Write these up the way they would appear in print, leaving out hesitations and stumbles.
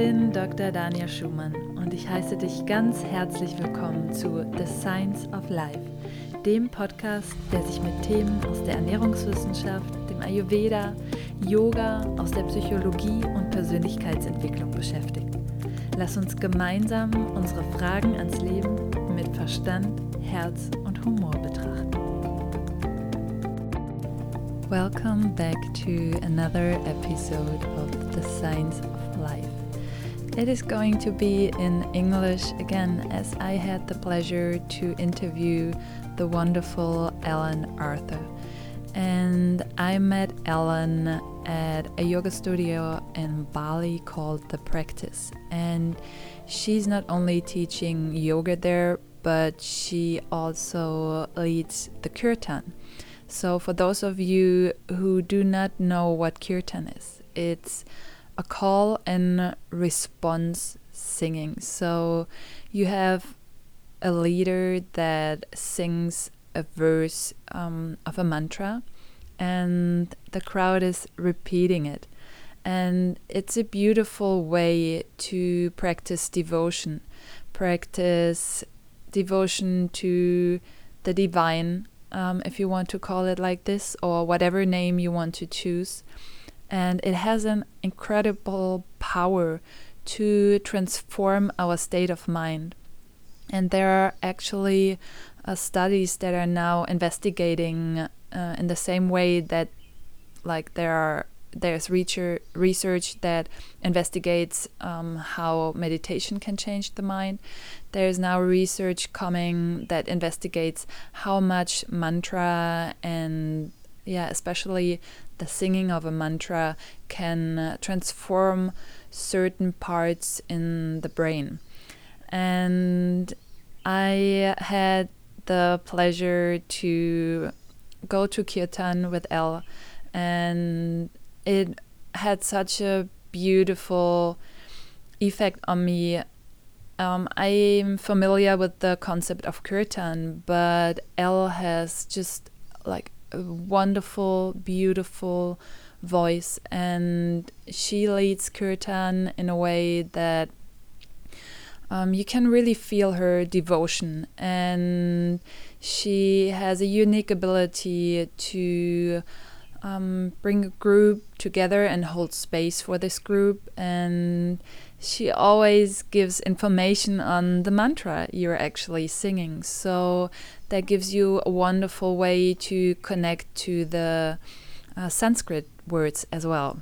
bin Dr. Dania Schumann und ich heiße dich ganz herzlich willkommen zu The Science of Life, dem Podcast, der sich mit Themen aus der Ernährungswissenschaft, dem Ayurveda, Yoga, aus der Psychologie und Persönlichkeitsentwicklung beschäftigt. Lass uns gemeinsam unsere Fragen ans Leben mit Verstand, Herz und Humor betrachten. Welcome back to another episode of The Science of Life. It is going to be in English again, as I had the pleasure to interview the wonderful Ellen Arthur. And I met Ellen at a yoga studio in Bali called The Practice. And she's not only teaching yoga there, but she also leads the kirtan. So for those of you who do not know what kirtan is, it's a call and response singing. So you have a leader that sings a verse of a mantra and the crowd is repeating it. And it's a beautiful way to practice devotion to the divine, if you want to call it like this, or whatever name you want to choose. And it has an incredible power to transform our state of mind. And there are actually studies that are now investigating in the same way that there's research that investigates how meditation can change the mind. There's now research coming that investigates how much mantra and especially the singing of a mantra can transform certain parts in the brain. And I had the pleasure to go to Kirtan with Elle, and it had such a beautiful effect on me. I'm familiar with the concept of kirtan, but Elle has just like a wonderful, beautiful voice, and she leads kirtan in a way that you can really feel her devotion, and she has a unique ability to bring a group together and hold space for this group, and she always gives information on the mantra you're actually singing, so that gives you a wonderful way to connect to the Sanskrit words as well.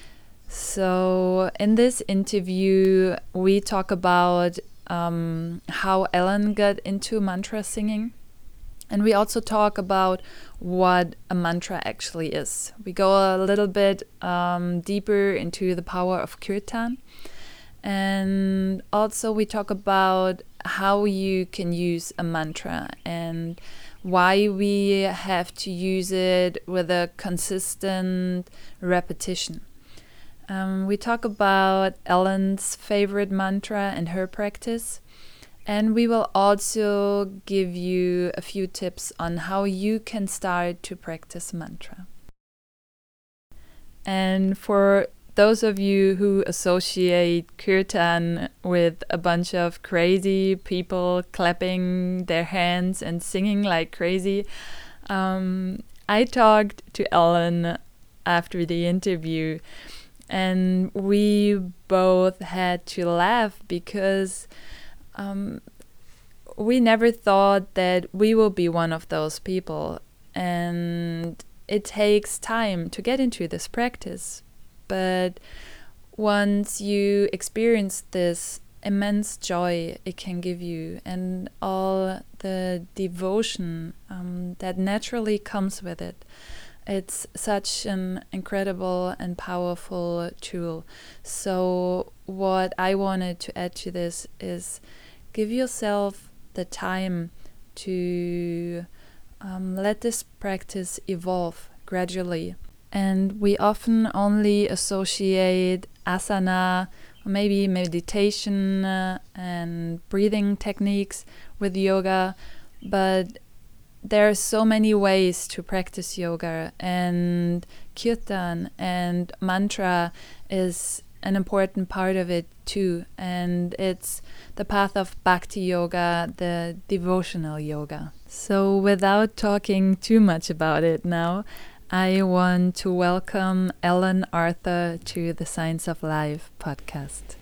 So in this interview we talk about how Ellen got into mantra singing. And we also talk about what a mantra actually is. We go a little bit deeper into the power of kirtan. And also we talk about how you can use a mantra and why we have to use it with a consistent repetition. We talk about Ellen's favorite mantra and her practice. And we will also give you a few tips on how you can start to practice mantra. And for those of you who associate kirtan with a bunch of crazy people clapping their hands and singing like crazy, I talked to Ellen after the interview, and we both had to laugh because we never thought that we will be one of those people, and it takes time to get into this practice. But once you experience this immense joy it can give you and all the devotion that naturally comes with it, it's such an incredible and powerful tool. So what I wanted to add to this is give yourself the time to let this practice evolve gradually. And we often only associate asana, or maybe meditation and breathing techniques with yoga, but there are so many ways to practice yoga, and kirtan and mantra is an important part of it too, and it's the path of Bhakti Yoga, the devotional yoga. So without talking too much about it now, I want to welcome Ellen Arthur to the Science of Life podcast.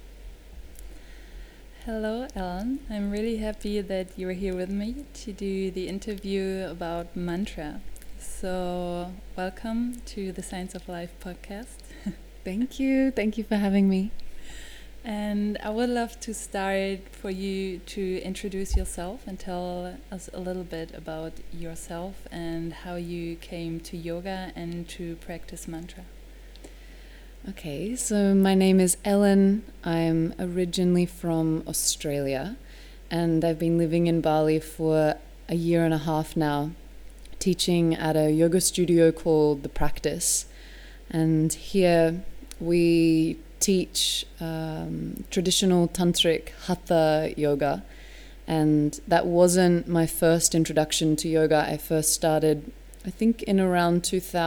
Hello, Ellen. I'm really happy that you're here with me to do the interview about mantra. So, welcome to the Science of Life podcast. Thank you. Thank you for having me. And I would love to start for you to introduce yourself and tell us a little bit about yourself and how you came to yoga and to practice mantra. Okay, so my name is Ellen. I'm originally from Australia, and I've been living in Bali for a year and a half now, teaching at a yoga studio called The Practice. And here we teach traditional tantric hatha yoga. And that wasn't my first introduction to yoga. I first started, I think, in around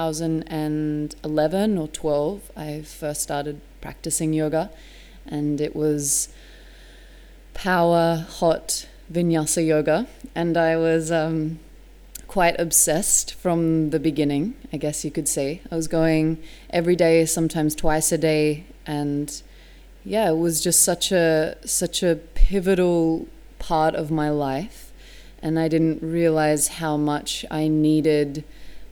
2011 or 12. I first started practicing yoga. And it was power, hot vinyasa yoga. And I was quite obsessed from the beginning, I guess you could say. I was going every day, sometimes twice a day, and yeah, it was just such a pivotal part of my life, and I didn't realize how much I needed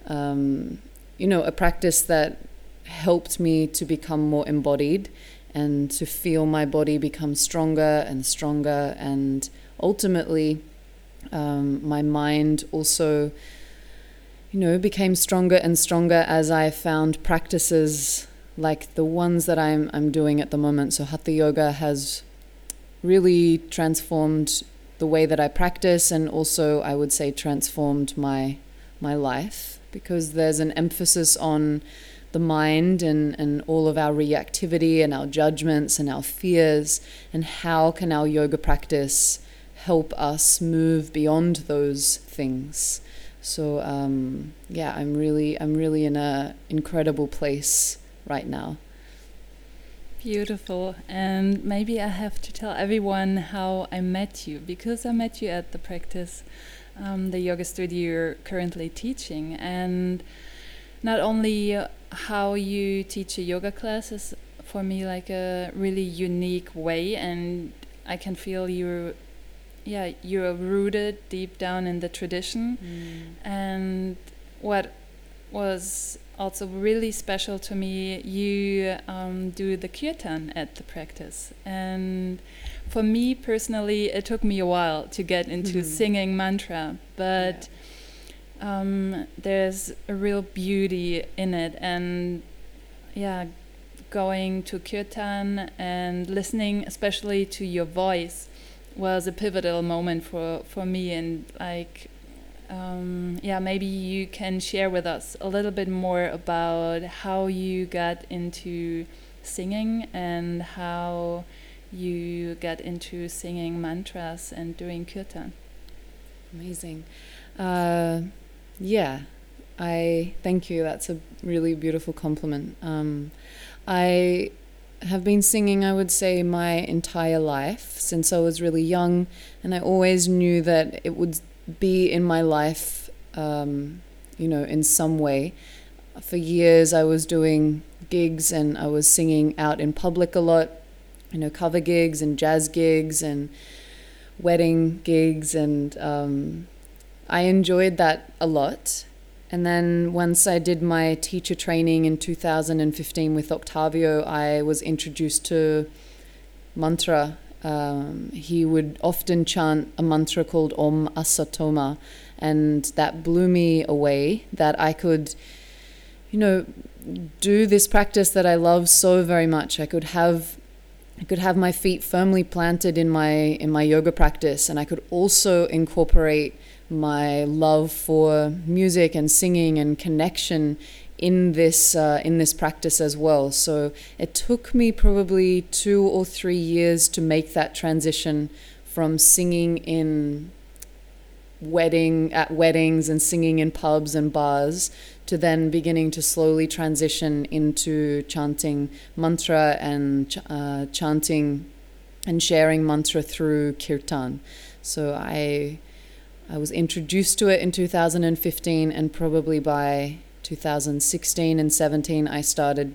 a practice that helped me to become more embodied and to feel my body become stronger and stronger, and ultimately my mind also, became stronger and stronger as I found practices like the ones that I'm doing at the moment. So Hatha Yoga has really transformed the way that I practice, and also I would say transformed my life, because there's an emphasis on the mind and all of our reactivity and our judgments and our fears, and how can our yoga practice help us move beyond those things. So I'm really in an incredible place right now. Beautiful. And maybe I have to tell everyone how I met you, because I met you at The Practice, the yoga studio you're currently teaching. And not only how you teach a yoga class is for me like a really unique way, and I can feel you're rooted deep down in the tradition. And what was also really special to me, you do the kirtan at The Practice. And for me personally, it took me a while to get into singing mantra, but there's a real beauty in it. And going to kirtan and listening especially to your voice was a pivotal moment for me. And maybe you can share with us a little bit more about how you got into singing and how you got into singing mantras and doing kirtan. Amazing. I thank you. That's a really beautiful compliment. I have been singing, I would say, my entire life since I was really young, and I always knew that it would be in my life, in some way. For years I was doing gigs and I was singing out in public a lot, cover gigs and jazz gigs and wedding gigs, and I enjoyed that a lot. And then once I did my teacher training in 2015 with Octavio, I was introduced to mantra. He would often chant a mantra called Om Asatoma, and that blew me away, that I could, do this practice that I love so very much. I could have my feet firmly planted in my yoga practice, and I could also incorporate my love for music and singing and connection in this practice as well. So it took me probably 2 or 3 years to make that transition from singing in weddings and singing in pubs and bars, to then beginning to slowly transition into chanting mantra and chanting and sharing mantra through kirtan. So I was introduced to it in 2015, and probably by 2016 and 17 I started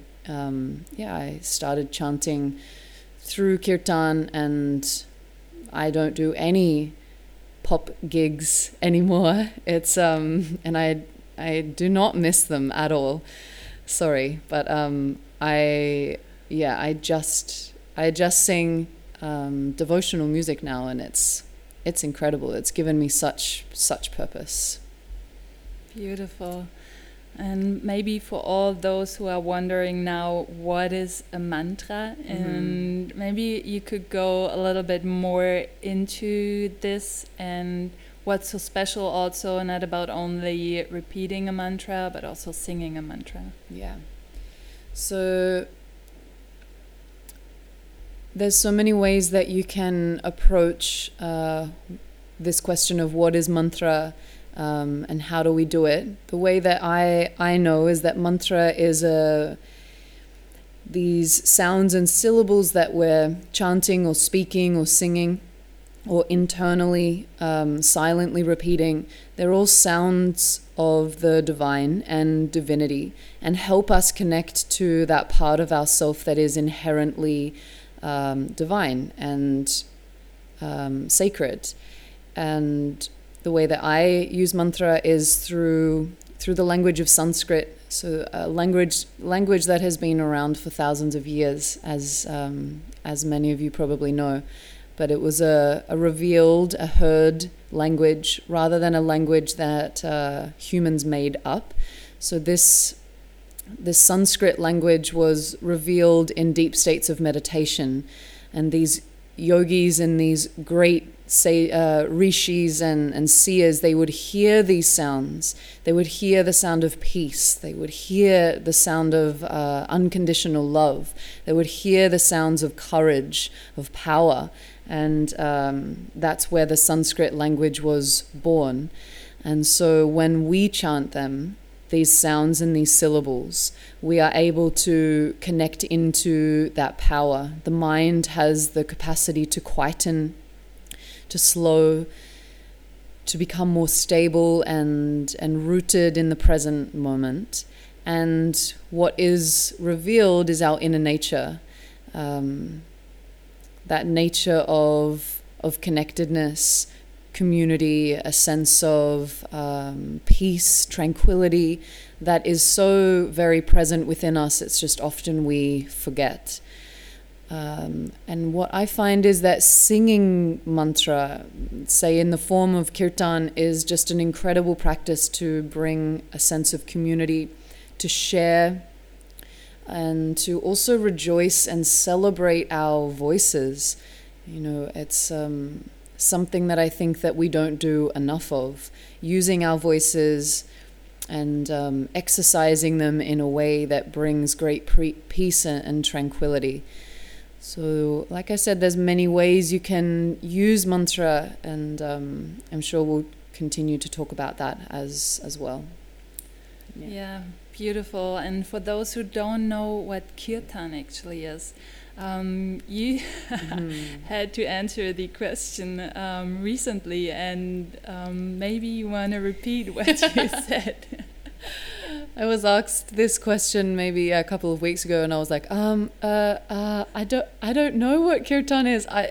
chanting through kirtan, and I don't do any pop gigs anymore. It's and I do not miss them at all. Sorry, but I just sing devotional music now, and it's incredible. It's given me such purpose. Beautiful. And maybe for all those who are wondering now, what is a mantra? Mm-hmm. And maybe you could go a little bit more into this, and what's so special also, not about only repeating a mantra, but also singing a mantra. Yeah. So there's so many ways that you can approach this question of what is mantra. And how do we do it? The way that I know is that mantra is these sounds and syllables that we're chanting or speaking or singing or internally silently repeating. They're all sounds of the divine and divinity, and help us connect to that part of ourself that is inherently divine and sacred. And the way that I use mantra is through the language of Sanskrit, so a language that has been around for thousands of years, as many of you probably know. But it was a heard language rather than a language that humans made up. So this Sanskrit language was revealed in deep states of meditation, and these yogis and these great rishis and seers, they would hear these sounds. They would hear the sound of peace. They would hear the sound of unconditional love. They would hear the sounds of courage, of power. And that's where the Sanskrit language was born. And so when we chant them, these sounds and these syllables, we are able to connect into that power. The mind has the capacity to quieten, to slow, to become more stable and rooted in the present moment. And what is revealed is our inner nature, that nature of connectedness, community, a sense of peace, tranquility, that is so very present within us. It's just often we forget. And what I find is that singing mantra, say in the form of kirtan, is just an incredible practice to bring a sense of community, to share, and to also rejoice and celebrate our voices. You know, it's something that I think that we don't do enough of, using our voices and exercising them in a way that brings great peace and tranquility. So, like I said, there's many ways you can use mantra, and I'm sure we'll continue to talk about that as well. Yeah, beautiful. And for those who don't know what kirtan actually is, you had to answer the question recently, and maybe you want to repeat what you said. I was asked this question maybe a couple of weeks ago, and I was like, I don't know what kirtan is. I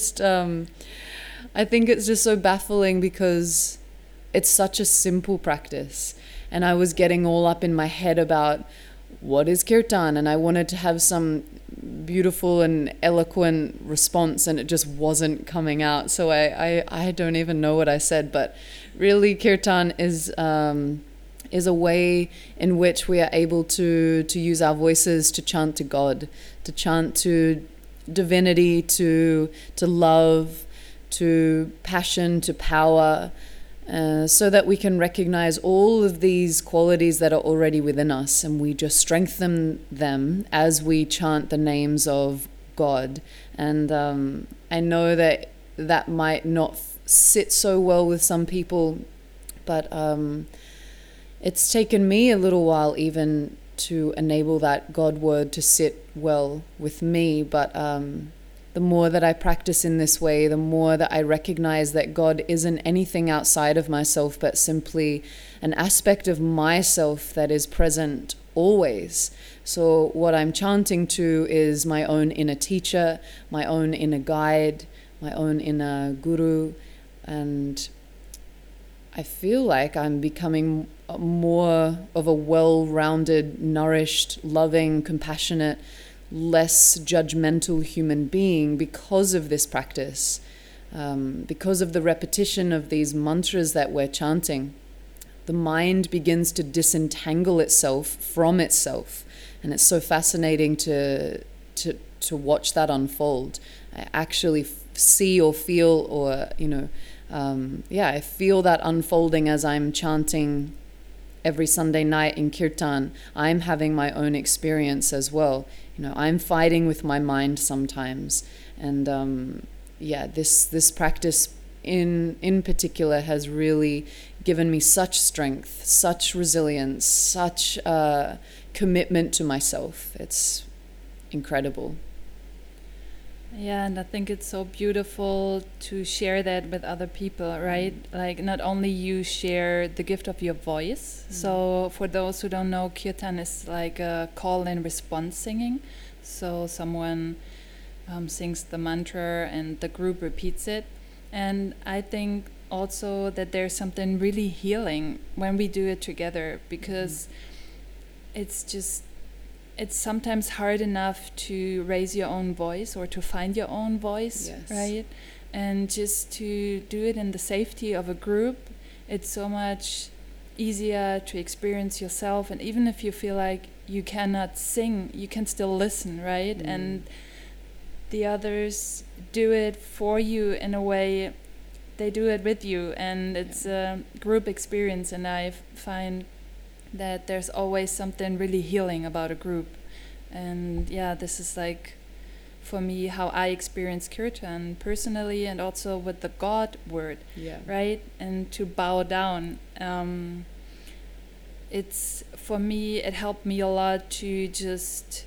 think it's just so baffling because it's such a simple practice, and I was getting all up in my head about what is kirtan, and I wanted to have some beautiful and eloquent response, and it just wasn't coming out. So I don't even know what I said, but really kirtan is a way in which we are able to use our voices to chant to God, to chant to divinity, to love, to passion, to power, so that we can recognize all of these qualities that are already within us, and we just strengthen them as we chant the names of God. And I know that might not sit so well with some people, but it's taken me a little while even to enable that God word to sit well with me. But the more that I practice in this way, the more that I recognize that God isn't anything outside of myself, but simply an aspect of myself that is present always. So what I'm chanting to is my own inner teacher, my own inner guide, my own inner guru, and I feel like I'm becoming more of a well-rounded, nourished, loving, compassionate, less judgmental human being because of this practice, because of the repetition of these mantras that we're chanting. The mind begins to disentangle itself from itself, and it's so fascinating to watch that unfold. I actually see or feel, or I feel that unfolding as I'm chanting every Sunday night in kirtan. I'm having my own experience as well. I'm fighting with my mind sometimes, and this practice in particular has really given me such strength, such resilience, such commitment to myself. It's incredible. Yeah, and I think it's so beautiful to share that with other people, right? Like, not only you share the gift of your voice. So for those who don't know, kirtan is like a call and response singing. So someone sings the mantra and the group repeats it. And I think also that there's something really healing when we do it together, because it's sometimes hard enough to raise your own voice or to find your own voice, yes. Right? And just to do it in the safety of a group, it's so much easier to experience yourself. And even if you feel like you cannot sing, you can still listen, right? And the others do it for you in a way. They do it with you, and it's a group experience. And I find that there's always something really healing about a group. And this is like, for me, how I experience kirtan personally, and also with the God word, right? And to bow down. For me, it helped me a lot to just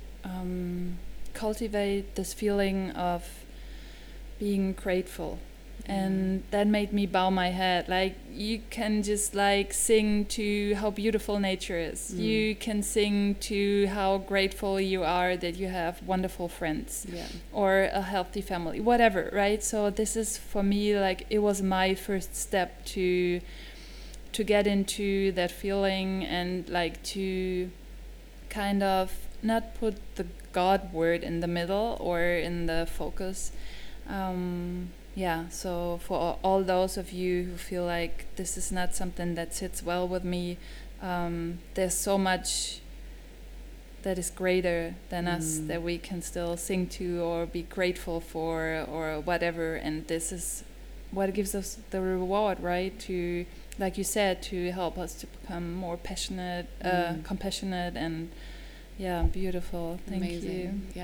cultivate this feeling of being grateful. And that made me bow my head. Like, you can just like sing to how beautiful nature is. You can sing to how grateful you are that you have wonderful friends or a healthy family, whatever, right? So this is, for me, like, it was my first step to get into that feeling, and like to kind of not put the God word in the middle or in the focus. So for all those of you who feel like this is not something that sits well with me, there's so much that is greater than us that we can still sing to or be grateful for or whatever. And this is what gives us the reward, right? To, like you said, to help us to become more passionate, compassionate, and beautiful. Thank Amazing. you.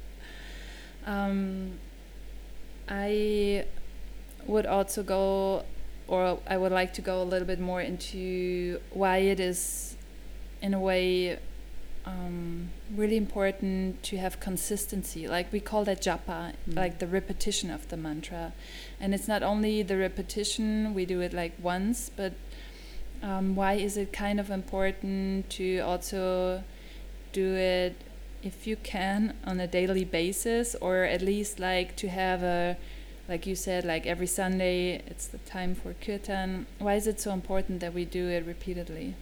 Yeah. I would also go, or I would like to go a little bit more into why it is, in a way, really important to have consistency. Like, we call that japa, like the repetition of the mantra. And it's not only the repetition, we do it like once, but why is it kind of important to also do it, if you can, on a daily basis, or at least like to have a, like you said, like every Sunday it's the time for kirtan. Why is it so important that we do it repeatedly?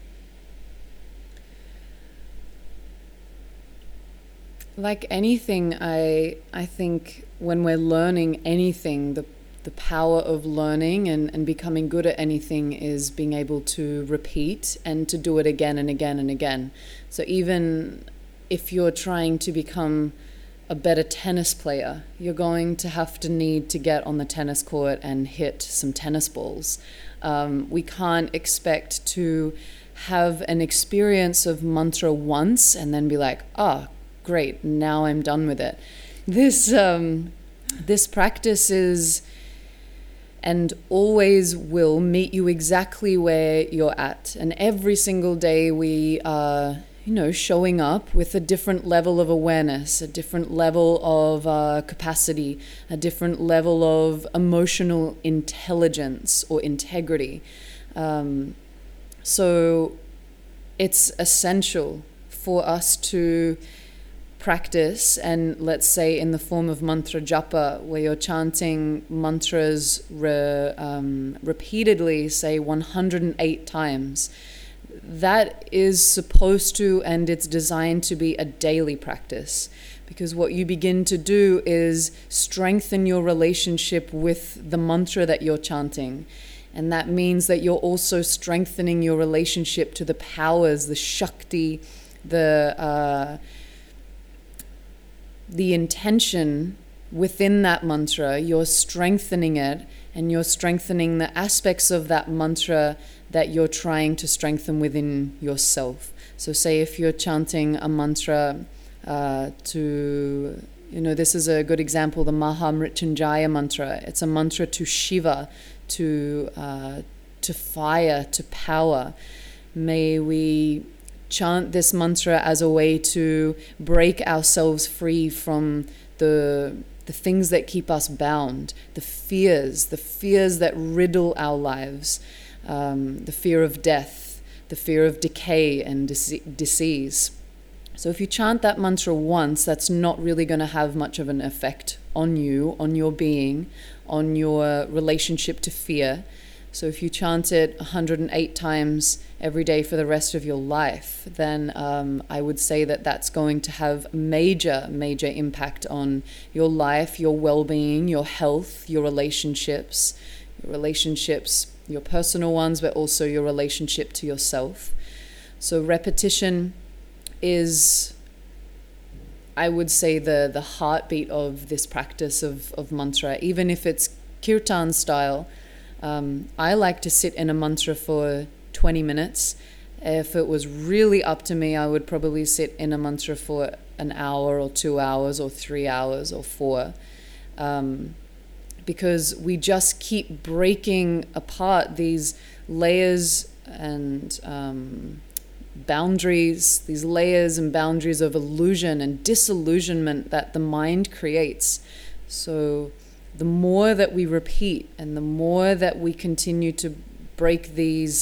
Like anything, I think when we're learning anything, the power of learning and becoming good at anything is being able to repeat and to do it again and again and again. So even if you're trying to become a better tennis player, you're going to have to need to get on the tennis court and hit some tennis balls. We can't expect to have an experience of mantra once and then be like, great, now I'm done with it. This practice is and always will meet you exactly where you're at. And every single day we are, showing up with a different level of awareness, a different level of capacity, a different level of emotional intelligence or integrity. So it's essential for us to practice, and let's say in the form of mantra japa, where you're chanting mantras repeatedly, say 108 times. That is supposed to, and it's designed to be a daily practice, because what you begin to do is strengthen your relationship with the mantra that you're chanting. And that means that you're also strengthening your relationship to the powers, the Shakti, the intention within that mantra. You're strengthening it, and you're strengthening the aspects of that mantra that you're trying to strengthen within yourself. So say if you're chanting a mantra this is a good example, the Maha Mrityunjaya mantra. It's a mantra to Shiva, to fire, to power. May we chant this mantra as a way to break ourselves free from the things that keep us bound, the fears that riddle our lives, the fear of death, the fear of decay and disease. So if you chant that mantra once, that's not really going to have much of an effect on you, on your being, on your relationship to fear. So if you chant it 108 times every day for the rest of your life, then I would say that that's going to have major impact on your life, your well-being, your health, your relationships, your personal ones, but also your relationship to yourself. So repetition is, I would say, the heartbeat of this practice of mantra. Even if it's kirtan style, I like to sit in a mantra for 20 minutes. If it was really up to me, I would probably sit in a mantra for an hour or 2 hours or 3 hours or 4. Because we just keep breaking apart these layers and boundaries, these layers and boundaries of illusion and disillusionment that the mind creates. So the more that we repeat and the more that we continue to break these,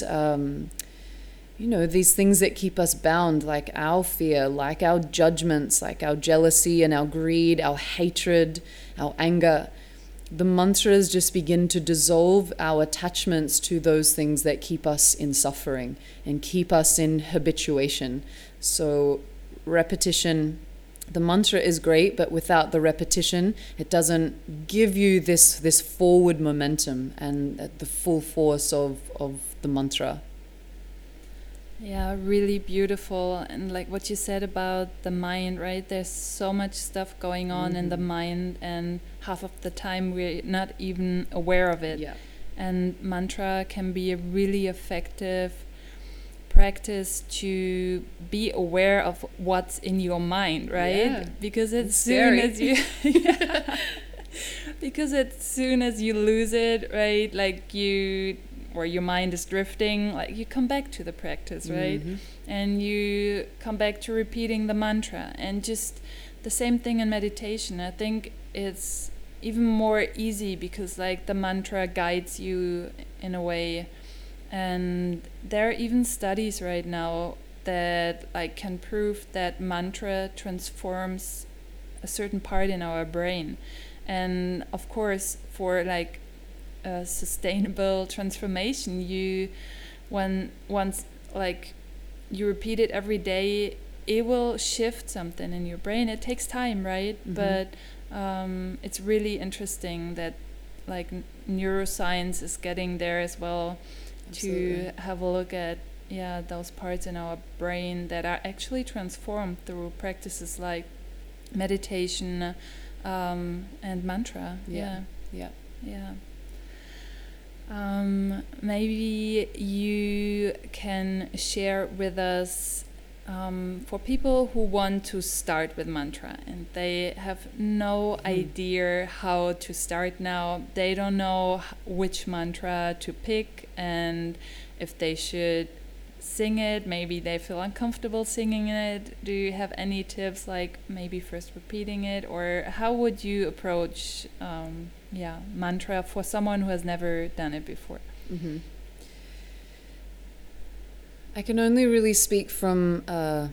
these things that keep us bound, like our fear, like our judgments, like our jealousy and our greed, our hatred, our anger, the mantras just begin to dissolve our attachments to those things that keep us in suffering and keep us in habituation. So repetition, the mantra is great, but without the repetition, it doesn't give you this forward momentum and the full force of the mantra. Yeah, really beautiful. And like what you said about the mind, right? There's so much stuff going on in the mind, and half of the time we're not even aware of it. Yeah. And mantra can be a really effective practice to be aware of what's in your mind, right? Yeah. Because as It's soon scary. as you because as soon as you lose it, right, like or your mind is drifting, like you come back to the practice, right? And you come back to repeating the mantra. And just the same thing in meditation. I think it's even more easy because like the mantra guides you in a way. And there are even studies right now that like can prove that mantra transforms a certain part in our brain. And of course, for like a sustainable transformation, once like you repeat it every day, it will shift something in your brain. It takes time, right? But it's really interesting that like neuroscience is getting there as well. Absolutely. To have a look at those parts in our brain that are actually transformed through practices like meditation and mantra. Yeah. Maybe you can share with us for people who want to start with mantra and they have no idea how to start now, they don't know which mantra to pick and if they should sing it, maybe they feel uncomfortable singing it. Do you have any tips, like maybe first repeating it, or how would you approach mantra for someone who has never done it before? Mm-hmm. I can only really speak from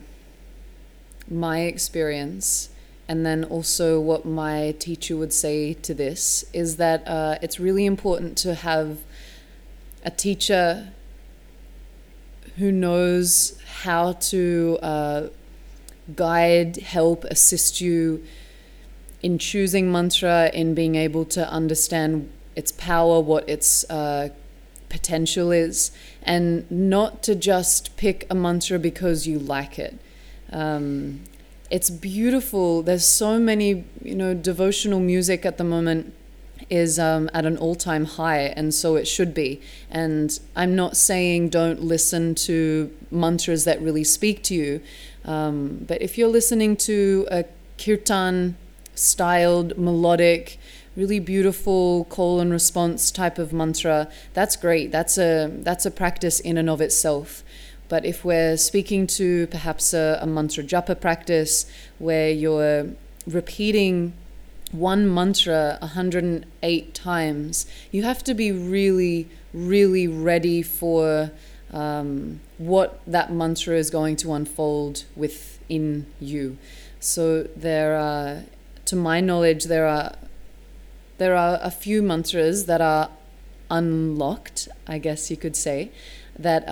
my experience, and then also what my teacher would say to this is that it's really important to have a teacher who knows how to guide, help, assist you in choosing mantra, in being able to understand its power, what its potential is, and not to just pick a mantra because you like it. It's beautiful. There's so many, devotional music at the moment is at an all-time high, and so it should be. And I'm not saying don't listen to mantras that really speak to you, but if you're listening to a kirtan styled, melodic, really beautiful call and response type of mantra, that's great. That's a practice in and of itself. But if we're speaking to perhaps a mantra japa practice where you're repeating one mantra 108 times, you have to be really, really ready for what that mantra is going to unfold within you. So to my knowledge, there are a few mantras that are unlocked, I guess you could say, that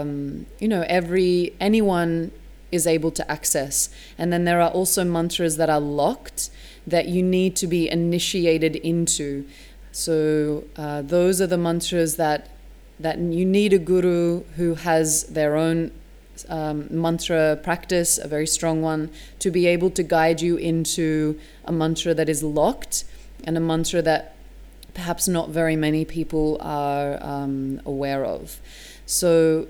anyone is able to access. And then there are also mantras that are locked that you need to be initiated into. So those are the mantras that you need a guru who has their own mantra practice, a very strong one, to be able to guide you into a mantra that is locked and a mantra that perhaps not very many people are aware of. So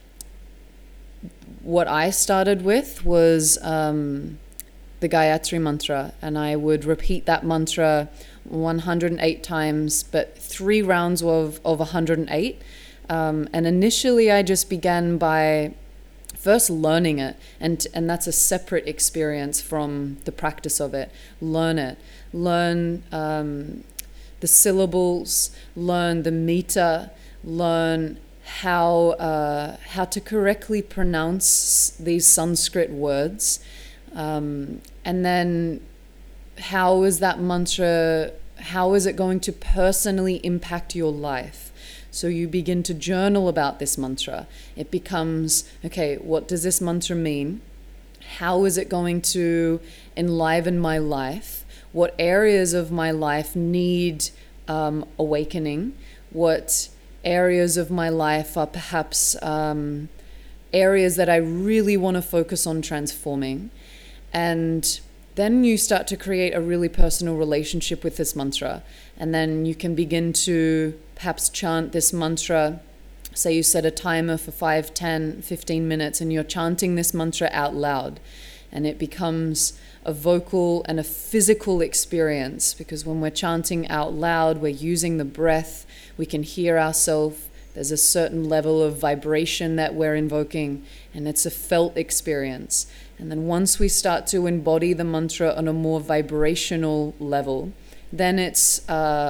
what I started with was the Gayatri mantra, and I would repeat that mantra 108 times, but 3 rounds of 108. And initially I just began by first learning it, and that's a separate experience from the practice of it. Learn it. Learn the syllables, learn the meter, learn how to correctly pronounce these Sanskrit words. And then how is that mantra, how is it going to personally impact your life? So you begin to journal about this mantra. It becomes, okay, what does this mantra mean? How is it going to enliven my life? What areas of my life need awakening? What areas of my life are perhaps areas that I really want to focus on transforming? And then you start to create a really personal relationship with this mantra. And then you can begin to perhaps chant this mantra. Say you set a timer for 5, 10, 15 minutes and you're chanting this mantra out loud. And it becomes a vocal and a physical experience, because when we're chanting out loud, we're using the breath, we can hear ourselves. There's a certain level of vibration that we're invoking, and it's a felt experience. And then once we start to embody the mantra on a more vibrational level, then it's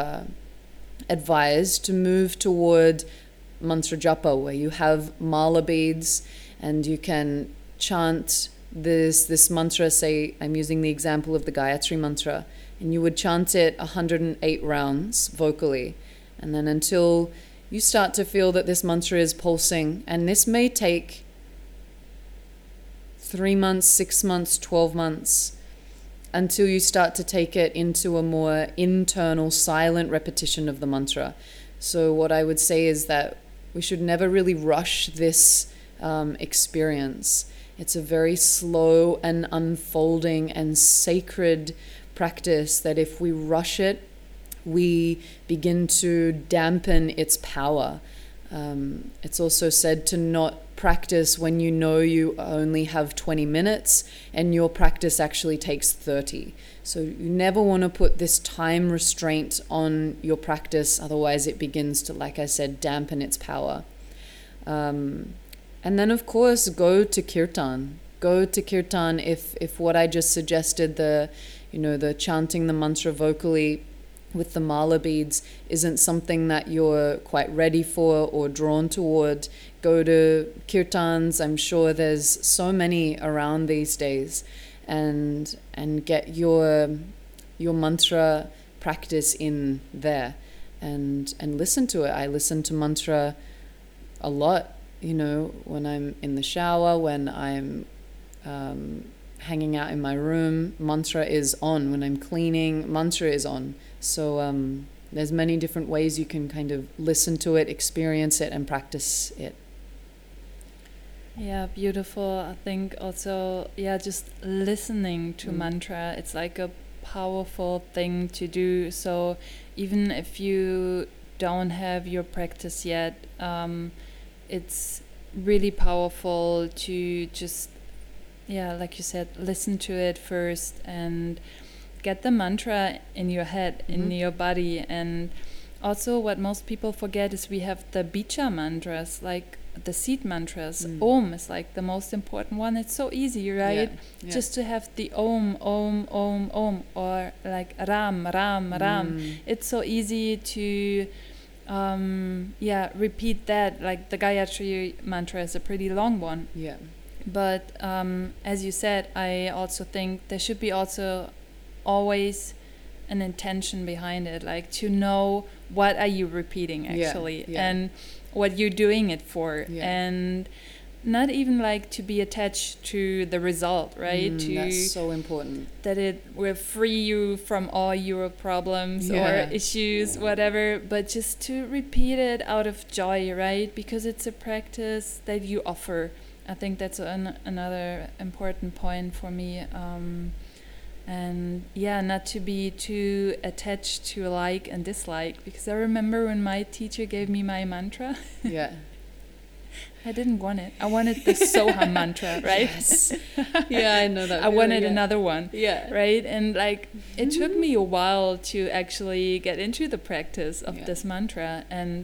advised to move toward mantra japa, where you have mala beads and you can chant this mantra. Say I'm using the example of the Gayatri mantra, and you would chant it 108 rounds vocally, and then until you start to feel that this mantra is pulsing. And this may take 3 months, 6 months, 12 months, until you start to take it into a more internal, silent repetition of the mantra. So what I would say is that we should never really rush this experience. It's a very slow and unfolding and sacred practice that if we rush it, we begin to dampen its power. It's also said to not practice when you know you only have 20 minutes and your practice actually takes 30. So you never want to put this time restraint on your practice, otherwise it begins to, like I said, dampen its power. And then, of course, go to kirtan. Go to kirtan if what I just suggested, the chanting the mantra vocally with the mala beads isn't something that you're quite ready for or drawn toward. Go to kirtans. I'm sure there's so many around these days, and get your mantra practice in there, and listen to it. I listen to mantra a lot, when I'm in the shower, when I'm hanging out in my room, mantra is on. When I'm cleaning, mantra is on. So there's many different ways you can kind of listen to it, experience it, and practice it. Yeah, beautiful. I think also, just listening to mantra, it's like a powerful thing to do. So even if you don't have your practice yet, it's really powerful to just, like you said, listen to it first and get the mantra in your head, in your body. And also what most people forget is we have the bija mantras, like the seed mantras. Om is like the most important one. It's so easy, right? Yeah. Just to have the om, om, om, om, or like ram, ram, ram. It's so easy to repeat that. Like the Gayatri mantra is a pretty long one. Yeah. But as you said, I also think there should be also always an intention behind it, like to know what are you repeating actually, and what you're doing it for, and not even like to be attached to the result, right? That's so important. That it will free you from all your problems or issues, whatever, but just to repeat it out of joy, right? Because it's a practice that you offer. I think that's another important point for me. And not to be too attached to like and dislike, because I remember when my teacher gave me my mantra. I didn't want it. I wanted the Soham mantra, right? Yes. Yeah, I know that. I wanted another one. Yeah. Right? And like it took me a while to actually get into the practice of this mantra, and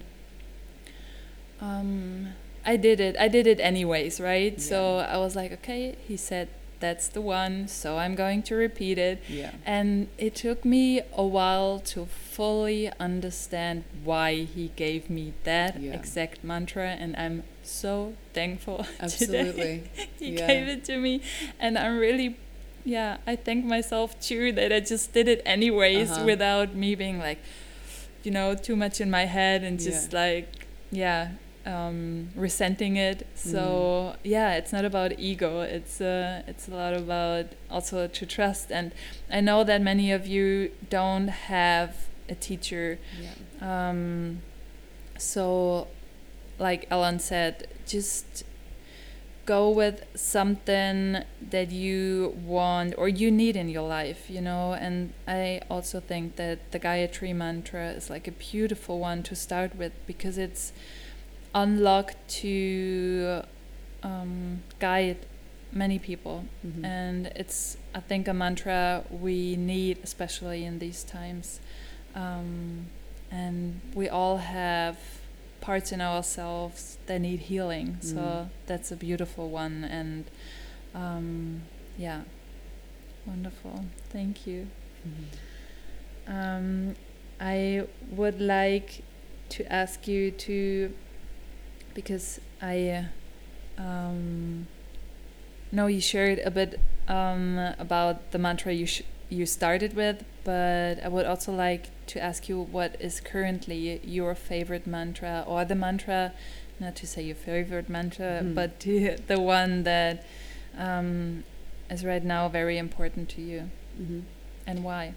I did it anyways, right? Yeah. So I was like, okay, he said that's the one, so I'm going to repeat it. Yeah. And it took me a while to fully understand why he gave me that exact mantra, and I'm so thankful. Absolutely. Today he gave it to me, and I'm really I thank myself too that I just did it anyways without me being like, too much in my head and just resenting it. So it's not about ego, it's a lot about also to trust. And I know that many of you don't have a teacher, so like Ellen said, just go with something that you want or you need in your life, and I also think that the Gayatri mantra is like a beautiful one to start with, because it's unlocked to guide many people, and it's, I think, a mantra we need, especially in these times, and we all have parts in ourselves that need healing, so that's a beautiful one. And wonderful, thank you. I would like to ask you to, because I know you shared a bit about the mantra you started with, but I would also like to ask you what is currently your favorite mantra, or the mantra, not to say your favorite mantra, but the one that is right now very important to you, and why?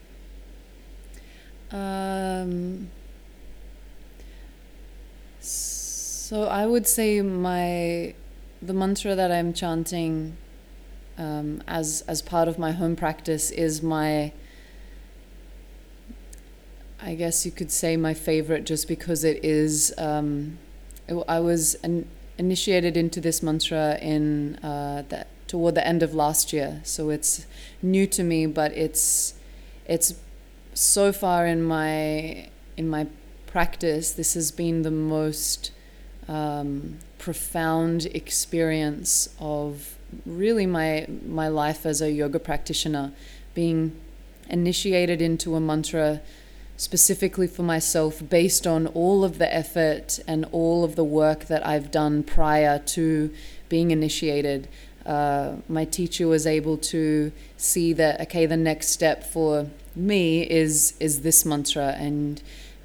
So I would say the mantra that I'm chanting as part of my home practice is I guess you could say my favorite, just because it is I was initiated into this mantra toward the end of last year. So it's new to me, but it's so far in my practice, this has been the most profound experience of really my life as a yoga practitioner, being initiated into a mantra specifically for myself based on all of the effort and all of the work that I've done prior to being initiated. My teacher was able to see that, okay, the next step for me is this mantra, and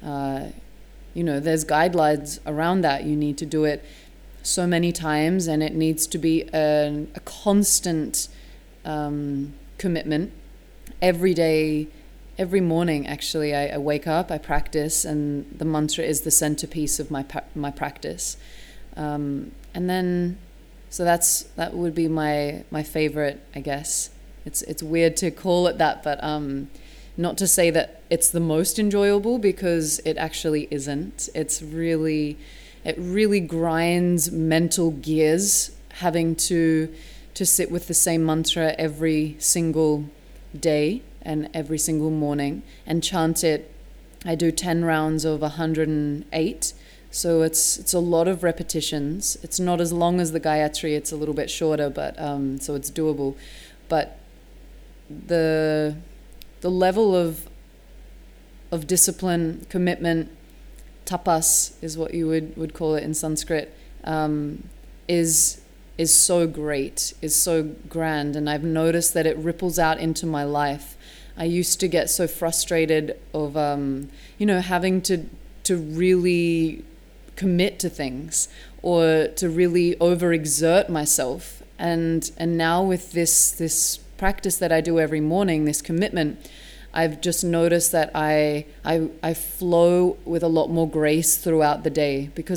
there's guidelines around that. You need to do it so many times, and it needs to be a constant commitment every day. Every morning, actually, I wake up, I practice, and the mantra is the centerpiece of my practice. And then, so that would be my favorite, I guess. It's weird to call it that, but not to say that it's the most enjoyable, because it actually isn't. It really grinds mental gears having to sit with the same mantra every single day and every single morning and chant it. I do 10 rounds of 108, so it's a lot of repetitions. It's not as long as the Gayatri, it's a little bit shorter, but so it's doable. But the level of discipline, commitment, tapas is what you would call it in Sanskrit, is so great, is so grand, and I've noticed that it ripples out into my life. I used to get so frustrated of having to really commit to things or to really overexert myself, and now with this practice that I do every morning, this commitment, I've just noticed that I flow with a lot more grace throughout the day, because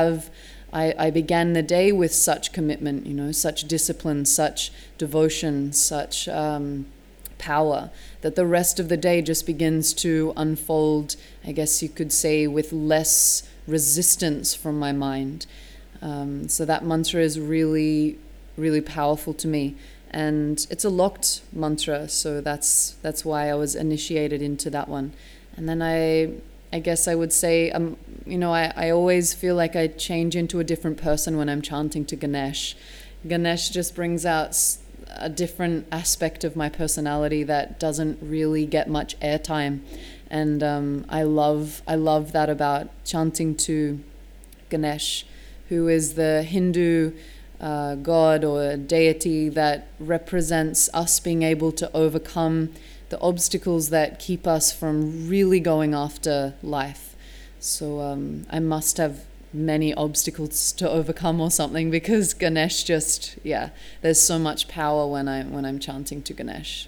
I began the day with such commitment, such discipline, such devotion, such power, that the rest of the day just begins to unfold, I guess you could say, with less resistance from my mind. So that mantra is really, really powerful to me. And it's a locked mantra, so that's why I was initiated into that one. And then I guess I would say, I always feel like I change into a different person when I'm chanting to Ganesh. Ganesh just brings out a different aspect of my personality that doesn't really get much airtime. And I love that about chanting to Ganesh, who is the Hindu god or deity that represents us being able to overcome the obstacles that keep us from really going after life. So I must have many obstacles to overcome or something, because Ganesh there's so much power when I'm chanting to Ganesh.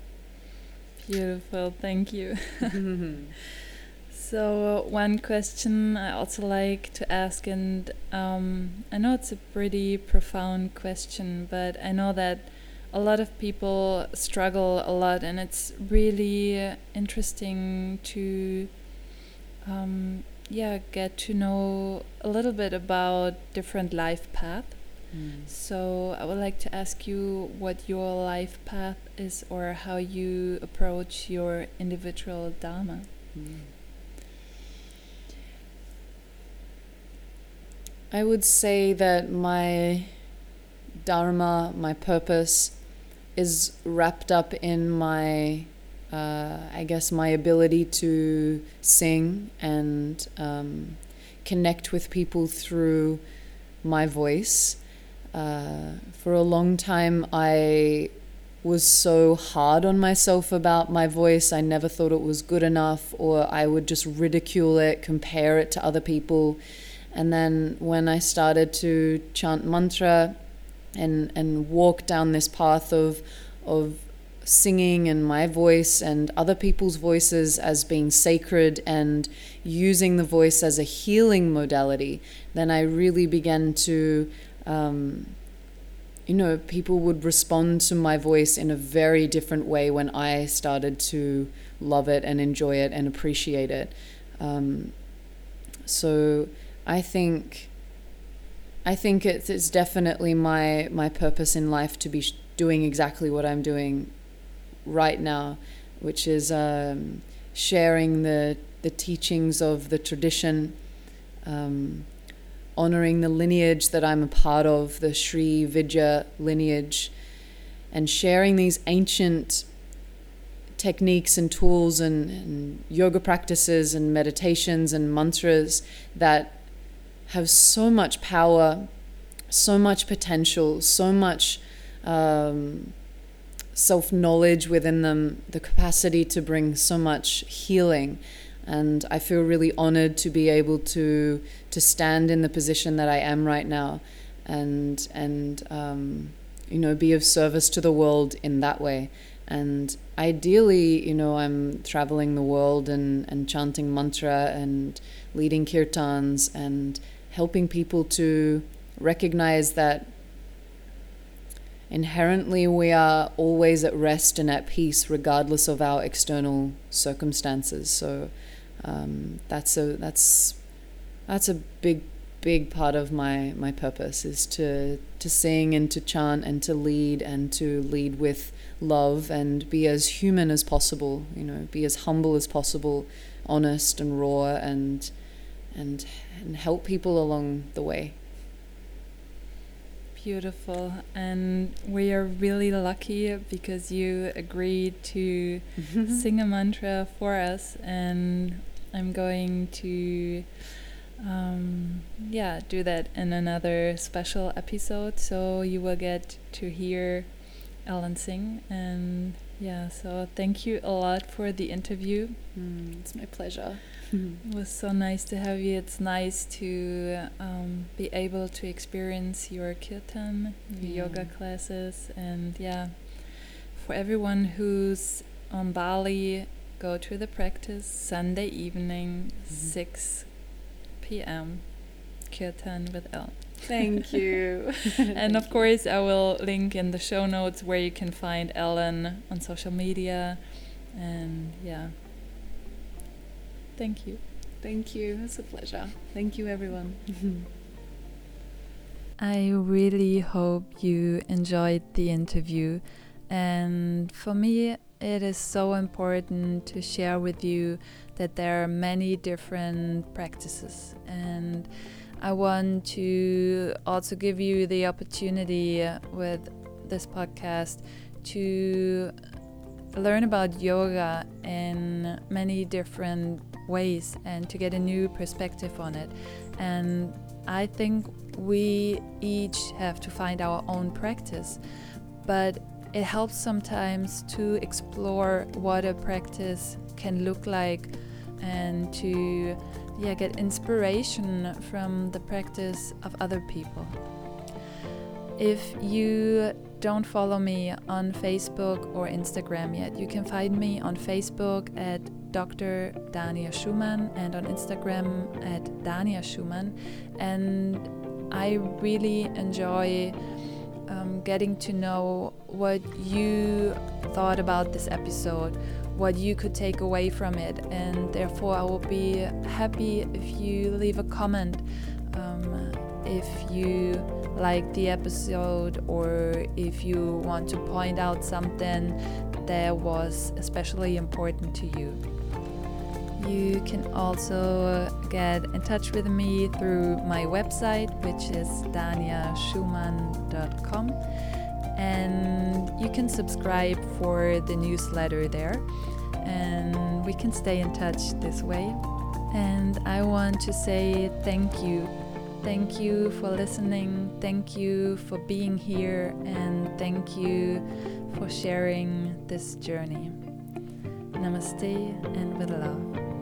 Beautiful, thank you. So one question I also like to ask, and I know it's a pretty profound question, but I know that a lot of people struggle a lot, and it's really interesting to get to know a little bit about different life paths. So I would like to ask you what your life path is, or how you approach your individual dharma. I would say that my dharma, my purpose, is wrapped up in my my ability to sing and connect with people through my voice. For a long time, I was so hard on myself about my voice. I never thought it was good enough, or I would just ridicule it, compare it to other people. And then when I started to chant mantra and walk down this path of singing and my voice and other people's voices as being sacred and using the voice as a healing modality, then I really began to, people would respond to my voice in a very different way when I started to love it and enjoy it and appreciate it. So I think I think it's definitely my purpose in life to be doing exactly what I'm doing right now, which is sharing the teachings of the tradition, honoring the lineage that I'm a part of, the Sri Vidya lineage, and sharing these ancient techniques and tools and yoga practices and meditations and mantras that have so much power, so much potential, so much self-knowledge within them, the capacity to bring so much healing. And I feel really honored to be able to stand in the position that I am right now and be of service to the world in that way. And ideally, I'm traveling the world and chanting mantra and leading kirtans and helping people to recognize that inherently we are always at rest and at peace regardless of our external circumstances. So that's a big part of my purpose, is to sing and to chant and to lead with love and be as human as possible, be as humble as possible, honest and raw, and help people along the way. Beautiful. And we are really lucky because you agreed to sing a mantra for us, and I'm going to do that in another special episode, so you will get to hear Ellen sing. And so thank you a lot for the interview. It's my pleasure. It was so nice to have you. It's nice to be able to experience your kirtan, your yoga classes, and for everyone who's on Bali, go to the practice Sunday evening, 6 p.m. kirtan with Ellen. Thank you. And of course, I will link in the show notes where you can find Ellen on social media. And thank you. Thank you. It's a pleasure. Thank you, everyone. I really hope you enjoyed the interview. And for me, it is so important to share with you that there are many different practices. And I want to also give you the opportunity with this podcast to learn about yoga in many different ways and to get a new perspective on it. And I think we each have to find our own practice, but it helps sometimes to explore what a practice can look like and to get inspiration from the practice of other people. If you don't follow me on Facebook or Instagram yet, you can find me on Facebook at Dr. Dania Schumann and on Instagram at Dania Schumann. And I really enjoy getting to know what you thought about this episode, what you could take away from it, and therefore I will be happy if you leave a comment if you like the episode, or if you want to point out something that was especially important to you. You can also get in touch with me through my website, which is daniaschumann.com, and you can subscribe for the newsletter there, and we can stay in touch this way. And I want to say thank you. Thank you for listening, thank you for being here, and thank you for sharing this journey. Namaste and with love.